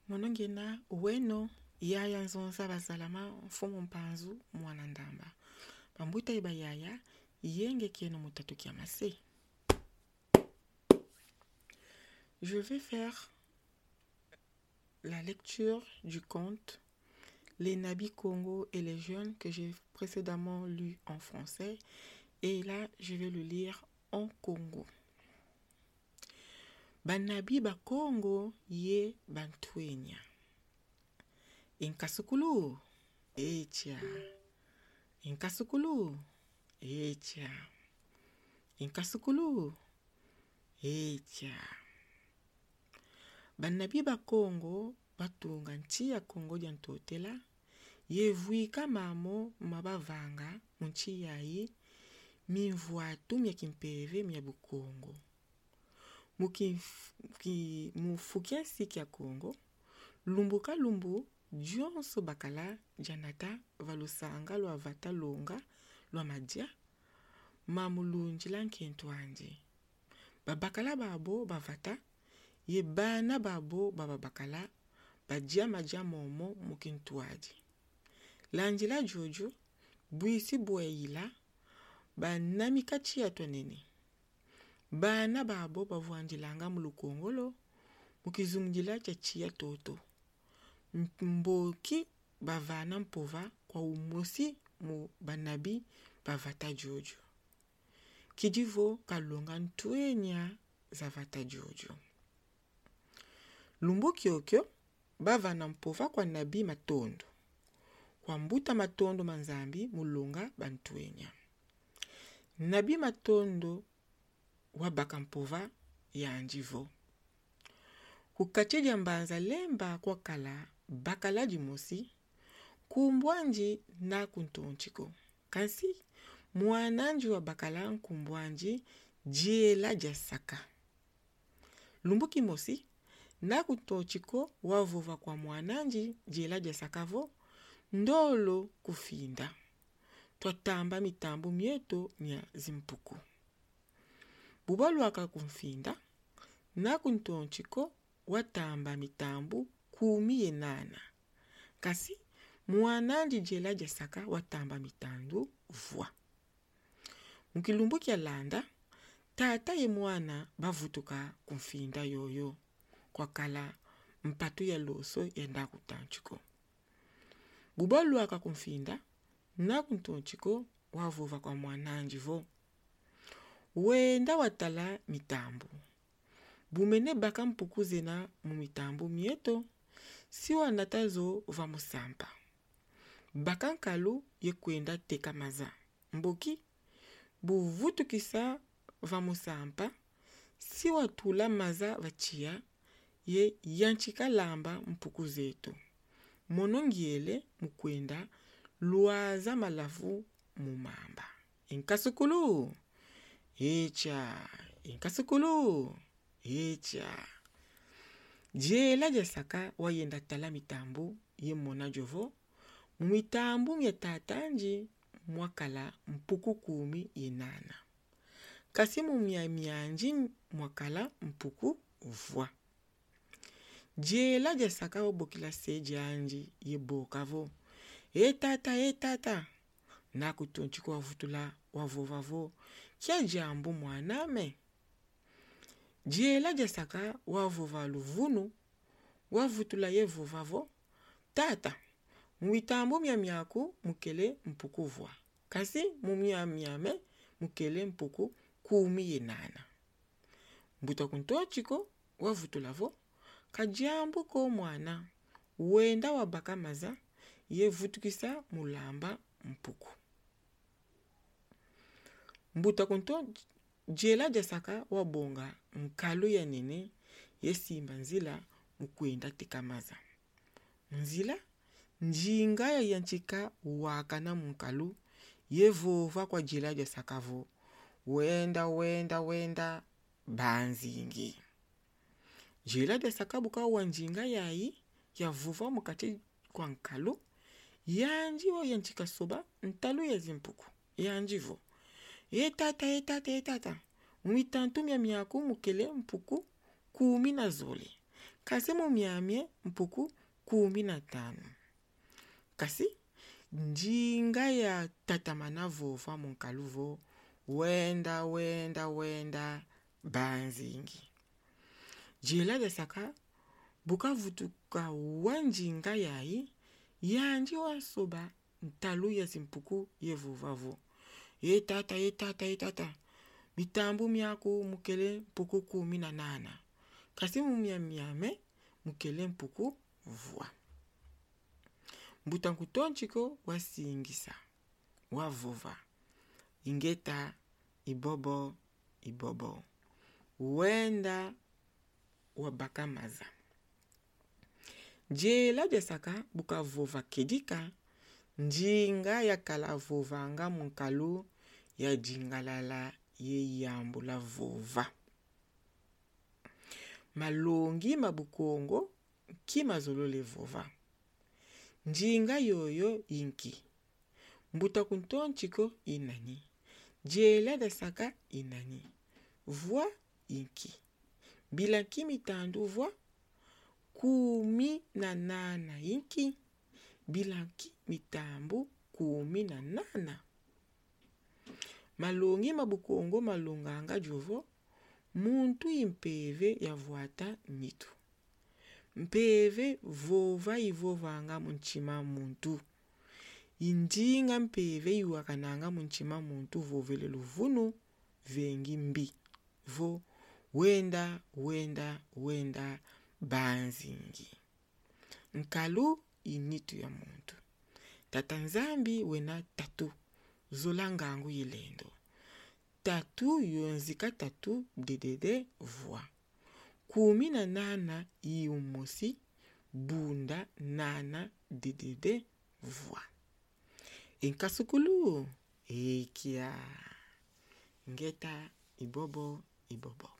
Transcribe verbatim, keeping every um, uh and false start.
Monongena uweno yaya nzonza bazalama mfumo mpanzu mwana ndamba. Pambuta iba yaya yenge keno mutatu kiamase. Je vais faire la lecture du conte Les Nabis Congo et les jeunes que j'ai précédemment lu en français. Et là, je vais le lire en Congo. Banabi ba Congo ye bantwenya. Inkasukulu echa. Inkasukulu echa. Inkasukulu echa. Banabi ba Congo batunga nchi ya Congo jantotela yevuika mamo mabavanga munchi yayi mimvuatu mya kimpeve mya bukongo. Muki mufukia siki ya Congo lumbuka lumbu jonso bakala janata valusanga lwa vata longa lwa madia mamulunji lankentwanje. Babakala babo bavata ye bana babo babakala badia madia momo mukintwaji. Lanjila jojo buisi bueila banamika chia tonene. Bana babo bavuanjilanga mulukongolo mukizumjila cha chia toto. Mboki bavana mpova kwa umosi mu banabi bavata jojo. Kijivo kalonga ntwenya za vata jojo. Lumbu kiokyo bavana mpova kwa nabi matondo. Kwa mbuta matondo manzambi mulonga bantwenya. Nabi matondo wabaka mpova ya anjivo. Kukacheja mbanza lemba kwa kala bakala jimosi kumbwanji na kuntonchiko. Kansi mwananji wa bakala kumbwanji jiela jasaka. Lumbuki mosi na kuntonchiko wavova kwa mwananji jiela jasakavo ndolo kufinda. Twatamba mitambu mieto mya zimpuku. Bubalu waka kumfinda na kuntonchiko watamba mitambu kumi yenana. Kasi mwananji jela jasaka watamba mitandu vwa. Mukilumbu kia landa tata ye mwana bavutuka kumfinda yoyo kwa kala mpatu ya loso yenda kutanchiko. Bubalu waka kumfinda na kuntonchiko wavuva kwa mwananji vo. Wenda watala mitambu. Bumene baka mpuku zena mu mitambu mieto, siwa natazo va musampa. Baka nkalu ye kwenda teka maza. Mboki, buvutu kisa va musampa, siwa tula maza vachia, ye yanchika lamba mpuku zetu. Monongiele mukwenda luaza malafu mumamba. Inkasukulu echa. Inkasukulu echa. Jela jasaka wayenda tala mitambu ye mona jovo. Mitambu mya tatanji mwakala mpuku kumi yenana. Kasi mumya mianji mwakala mpuku vwa. Jela jasaka wabokila seji anji ye bokavo. E tata, e tata. Na kutonchiko wavutula wavovavo. Kia jambu mwaname. Jela jasaka wavova luvunu. Wavutula ye vovavo. Tata. Mwitambu mya miaku mukele mpuku vwa. Kasi mumya miame mukele mpuku kumi yenana. Mbuta kuntochiko wavutula vo. Kajambu ko mwana. Wenda wabaka maza. Ye vutukisa mulamba mpuku. Mbuta kunto jela jasaka wabonga mkalu ya nene ye simba nzila mkwenda tekamaza. Nzila njinga ya yanchika wakana mkalu ye vova kwa jela jasaka vo. Wenda wenda wenda banzingi. Jela jasaka buka wanjinga yayi ya vova mkati kwa mkalu. Yanjivo yanchika soba ntalu ya zimpuku. Yanjivo. E tata, e tata, e tata. Mwitantu mya miaku mukele mpuku kumi na zole. kasi mumiamye mpuku kumi na tano. Kasi njinga ya tatamana vova munkaluvo wenda wenda wenda banzingi. Jela de saka buka vutuka wanjinga yai yanji wasoba ntalu ya simpuku ye vovavo. Ye tata ye tata ye tata bitambu miaku mukele mpuku kumi na nana. Kasi mumia miame mukele mpuku vua. Mbutanku tonchiko wasingisa wavova ingeta ibobo ibobo wenda wabakamaza. Jela desaka buka vova kedika njinga ya kala vova nga munkalu ya jingalala ye yambu la vova. Malongi mabukongo kima zolole vova. Njinga yoyo inki. Mbuta kuntonchiko inani. Jela desaka inani. Voa inki. Bilanki mitandu voa kumi na nana inki. Bilanki mitambu kumi na nana. Malongi mabukongo malonganga jovo. Muntu impeve ya vuata nitu. Mpeve vova ivovanga munchima muntu. Injinga mpeve iwakananga munchima muntu vovele luvunu vengi mbi. Vo wenda wenda wenda banzingi. Nkalu initu ya muntu. Tatanzambi wena tatu. Zolangangu yilendo. Tatu yonzika tatu dedede voa. Kumi na nana iumosi bunda nana dedede voa. Enkasukulu ekia ngeta ibobo ibobo.